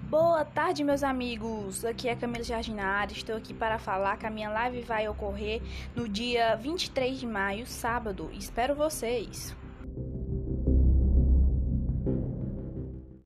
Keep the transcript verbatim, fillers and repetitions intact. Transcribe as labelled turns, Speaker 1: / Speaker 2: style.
Speaker 1: Boa tarde, meus amigos. Aqui é Camila Jardinari. Estou aqui para falar que a minha live vai ocorrer no dia vinte e três de maio, sábado. Espero vocês.